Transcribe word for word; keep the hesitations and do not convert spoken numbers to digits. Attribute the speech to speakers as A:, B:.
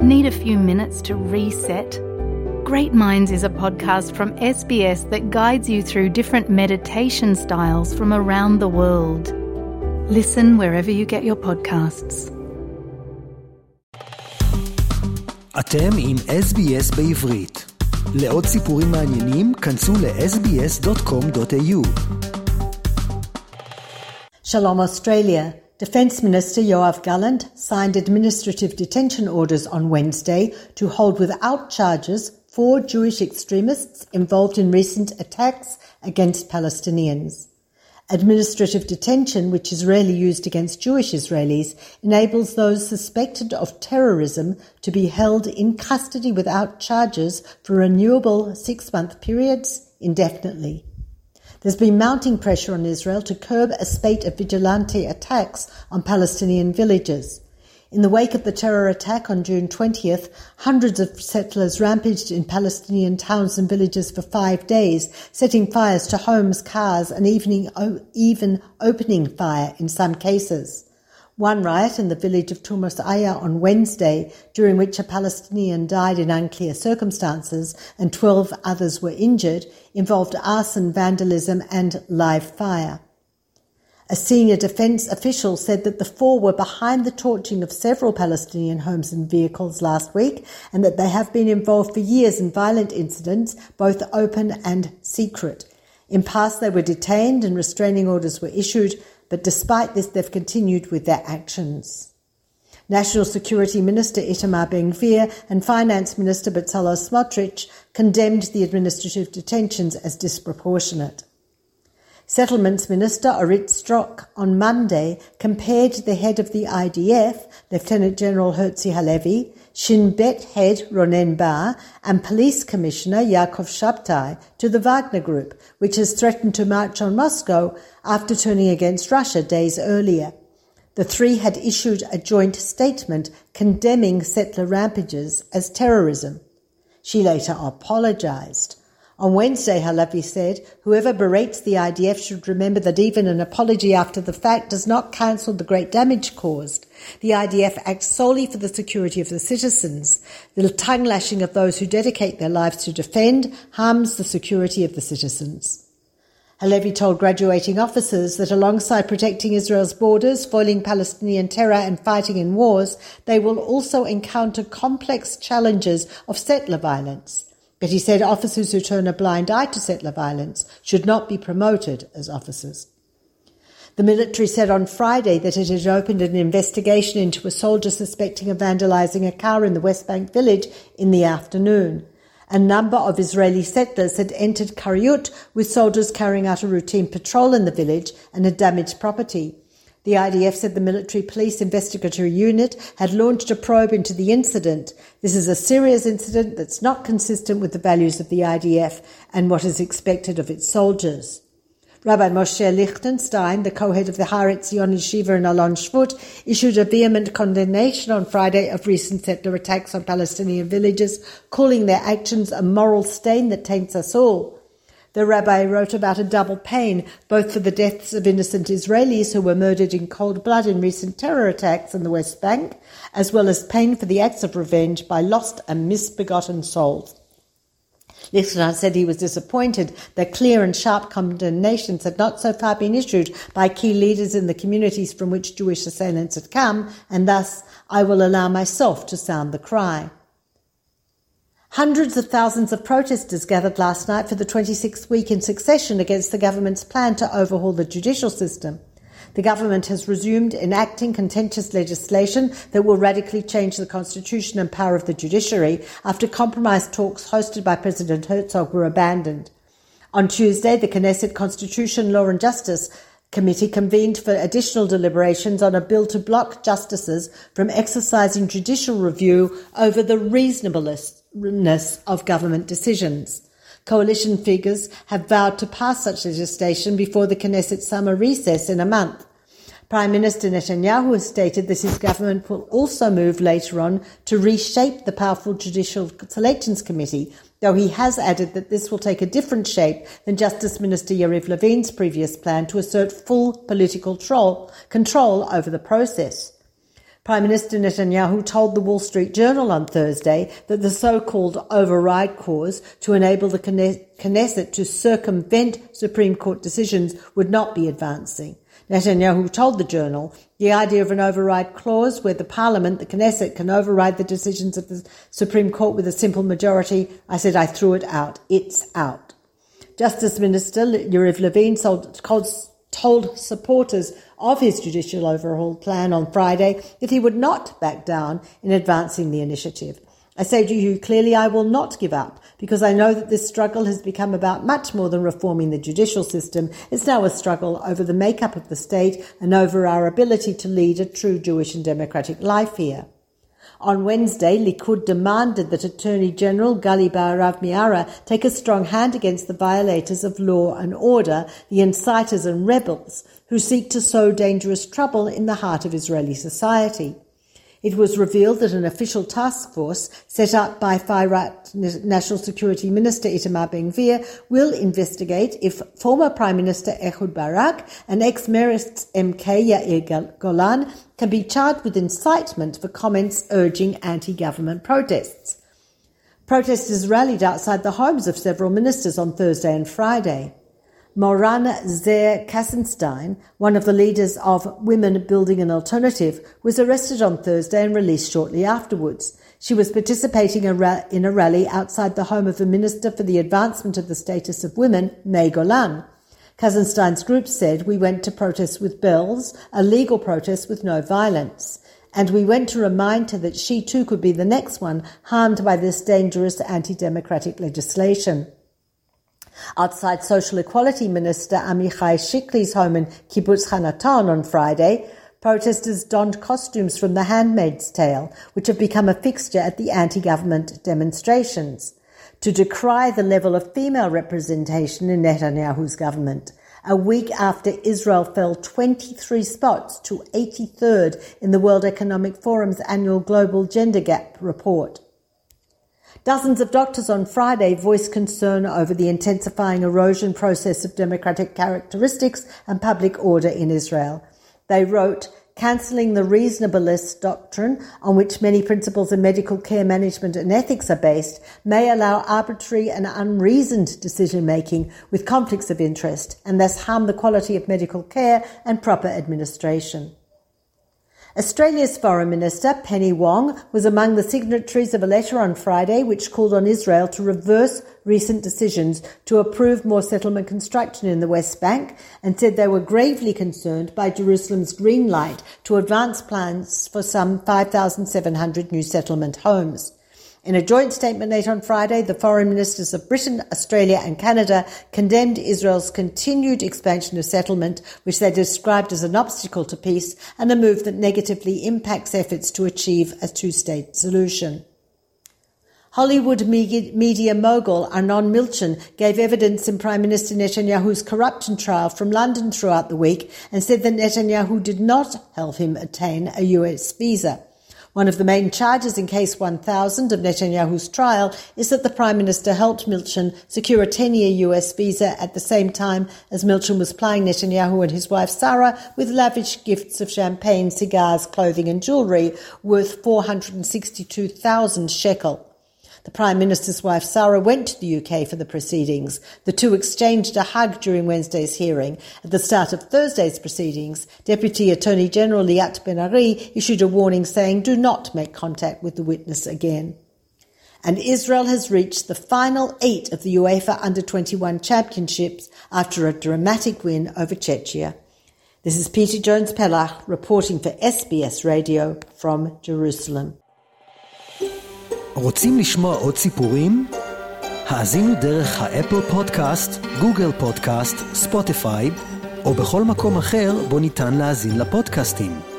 A: Need a few minutes to reset? Great Minds is a podcast from S B S that guides you through different meditation styles from around the world. Listen wherever you get your podcasts.
B: אתם עם אס בי אס בעברית. לעוד סיפורים מעניינים, כנסו ל-אס בי אס דוט קום דוט איי יו.
C: Shalom Australia. Defence Minister Yoav Gallant signed administrative detention orders on Wednesday to hold without charges four Jewish extremists involved in recent attacks against Palestinians. Administrative detention, which is rarely used against Jewish Israelis, enables those suspected of terrorism to be held in custody without charges for renewable six-month periods indefinitely. There's been mounting pressure on Israel to curb a spate of vigilante attacks on Palestinian villages. In the wake of the terror attack on June twentieth, hundreds of settlers rampaged in Palestinian towns and villages for five days, setting fires to homes, cars, and even, even opening fire in some cases. One riot in the village of Tumas Aya on Wednesday, during which a Palestinian died in unclear circumstances and twelve others were injured, involved arson, vandalism, and live fire. A senior defence official said that the four were behind the torching of several Palestinian homes and vehicles last week, and that they have been involved for years in violent incidents, both open and secret. In past, they were detained and restraining orders were issued, but despite this, they've continued with their actions. National Security Minister Itamar Ben-Gvir and Finance Minister Bezalel Smotrich condemned the administrative detentions as disproportionate. Settlements Minister Orit Strock on Monday compared the head of the I D F, Lieutenant General Herzi Halevi, Shin Bet head Ronen Bar, and Police Commissioner Yaakov Shabtai to the Wagner Group, which has threatened to march on Moscow after turning against Russia days earlier. The three had issued a joint statement condemning settler rampages as terrorism. She later apologized. On Wednesday, Halevi said, whoever berates the I D F should remember that even an apology after the fact does not cancel the great damage caused. The I D F acts solely for the security of the citizens. The tongue lashing of those who dedicate their lives to defend harms the security of the citizens. Halevi told graduating officers that alongside protecting Israel's borders, foiling Palestinian terror and fighting in wars, they will also encounter complex challenges of settler violence. But he said officers who turn a blind eye to settler violence should not be promoted as officers. The military said on Friday that it had opened an investigation into a soldier suspecting of vandalizing a car in the West Bank village in the afternoon. A number of Israeli settlers had entered Kiryut with soldiers carrying out a routine patrol in the village and had damaged property. The I D F said the military police investigatory unit had launched a probe into the incident. This is a serious incident that's not consistent with the values of the I D F and what is expected of its soldiers. Rabbi Moshe Lichtenstein, the co-head of the Har Etzion Yeshiva in Alon Shvut, issued a vehement condemnation on Friday of recent settler attacks on Palestinian villages, calling their actions a moral stain that taints us all. The rabbi wrote about a double pain, both for the deaths of innocent Israelis who were murdered in cold blood in recent terror attacks in the West Bank, as well as pain for the acts of revenge by lost and misbegotten souls. Lichtenstein said he was disappointed that clear and sharp condemnations had not so far been issued by key leaders in the communities from which Jewish assailants had come, and thus I will allow myself to sound the cry. Hundreds of thousands of protesters gathered last night for the twenty-sixth week in succession against the government's plan to overhaul the judicial system. The government has resumed enacting contentious legislation that will radically change the constitution and power of the judiciary after compromise talks hosted by President Herzog were abandoned. On Tuesday, the Knesset Constitution, Law and Justice Committee convened for additional deliberations on a bill to block justices from exercising judicial review over the reasonableness of government decisions. Coalition figures have vowed to pass such legislation before the Knesset summer recess in a month. Prime Minister Netanyahu has stated that his government will also move later on to reshape the powerful Judicial Selections Committee, though he has added that this will take a different shape than Justice Minister Yariv Levin's previous plan to assert full political control over the process. Prime Minister Netanyahu told the Wall Street Journal on Thursday that the so-called override clause to enable the Knesset to circumvent Supreme Court decisions would not be advancing. Netanyahu told the Journal the idea of an override clause where the Parliament, the Knesset, can override the decisions of the Supreme Court with a simple majority. I said I threw it out. It's out. Justice Minister Yariv Levin told, told supporters of his judicial overhaul plan on Friday that he would not back down in advancing the initiative. I say to you clearly, I will not give up, because I know that this struggle has become about much more than reforming the judicial system. It's now a struggle over the makeup of the state and over our ability to lead a true Jewish and democratic life here. On Wednesday, Likud demanded that Attorney General Gali Baharav Miara take a strong hand against the violators of law and order, the inciters and rebels who seek to sow dangerous trouble in the heart of Israeli society. It was revealed that an official task force set up by far-right National Security Minister Itamar Ben-Gvir will investigate if former Prime Minister Ehud Barak and ex-Meretz M K Yair Golan can be charged with incitement for comments urging anti-government protests. Protesters rallied outside the homes of several ministers on Thursday and Friday. Moran Ze'er Kassenstein, one of the leaders of Women Building an Alternative, was arrested on Thursday and released shortly afterwards. She was participating in a rally outside the home of the Minister for the Advancement of the Status of Women, May Golan. Kassenstein's group said, "We went to protest with bells, a legal protest with no violence. And we went to remind her that she too could be the next one harmed by this dangerous anti-democratic legislation." Outside Social Equality Minister Amichai Shikli's home in Kibbutz Hanaton on Friday, protesters donned costumes from The Handmaid's Tale, which have become a fixture at the anti-government demonstrations, to decry the level of female representation in Netanyahu's government, a week after Israel fell twenty-three spots to eighty-third in the World Economic Forum's annual Global Gender Gap report. Dozens of doctors on Friday voiced concern over the intensifying erosion process of democratic characteristics and public order in Israel. They wrote, "Cancelling the reasonableness doctrine, on which many principles in medical care management and ethics are based, may allow arbitrary and unreasoned decision-making with conflicts of interest and thus harm the quality of medical care and proper administration." Australia's Foreign Minister, Penny Wong, was among the signatories of a letter on Friday which called on Israel to reverse recent decisions to approve more settlement construction in the West Bank and said they were gravely concerned by Jerusalem's green light to advance plans for some five thousand seven hundred new settlement homes. In a joint statement late on Friday, the foreign ministers of Britain, Australia and Canada condemned Israel's continued expansion of settlement, which they described as an obstacle to peace and a move that negatively impacts efforts to achieve a two-state solution. Hollywood media mogul Arnon Milchan gave evidence in Prime Minister Netanyahu's corruption trial from London throughout the week and said that Netanyahu did not help him attain a U S visa. One of the main charges in Case one thousand of Netanyahu's trial is that the Prime Minister helped Milchan secure a ten-year U S visa at the same time as Milchan was plying Netanyahu and his wife Sarah with lavish gifts of champagne, cigars, clothing and jewellery worth four hundred sixty-two thousand shekel. The Prime Minister's wife Sarah went to the U K for the proceedings. The two exchanged a hug during Wednesday's hearing. At the start of Thursday's proceedings, Deputy Attorney General Liat Ben-Ari issued a warning saying, "Do not make contact with the witness again." And Israel has reached the final eight of the UEFA under twenty-one championships after a dramatic win over Czechia. This is Peter Jones-Pellach reporting for S B S Radio from Jerusalem.
B: רוצים לשמוע עוד סיפורים? האזינו דרך האפל פודקאסט, גוגל פודקאסט, ספוטיפיי, או בכל מקום אחר בו ניתן להאזין לפודקאסטים.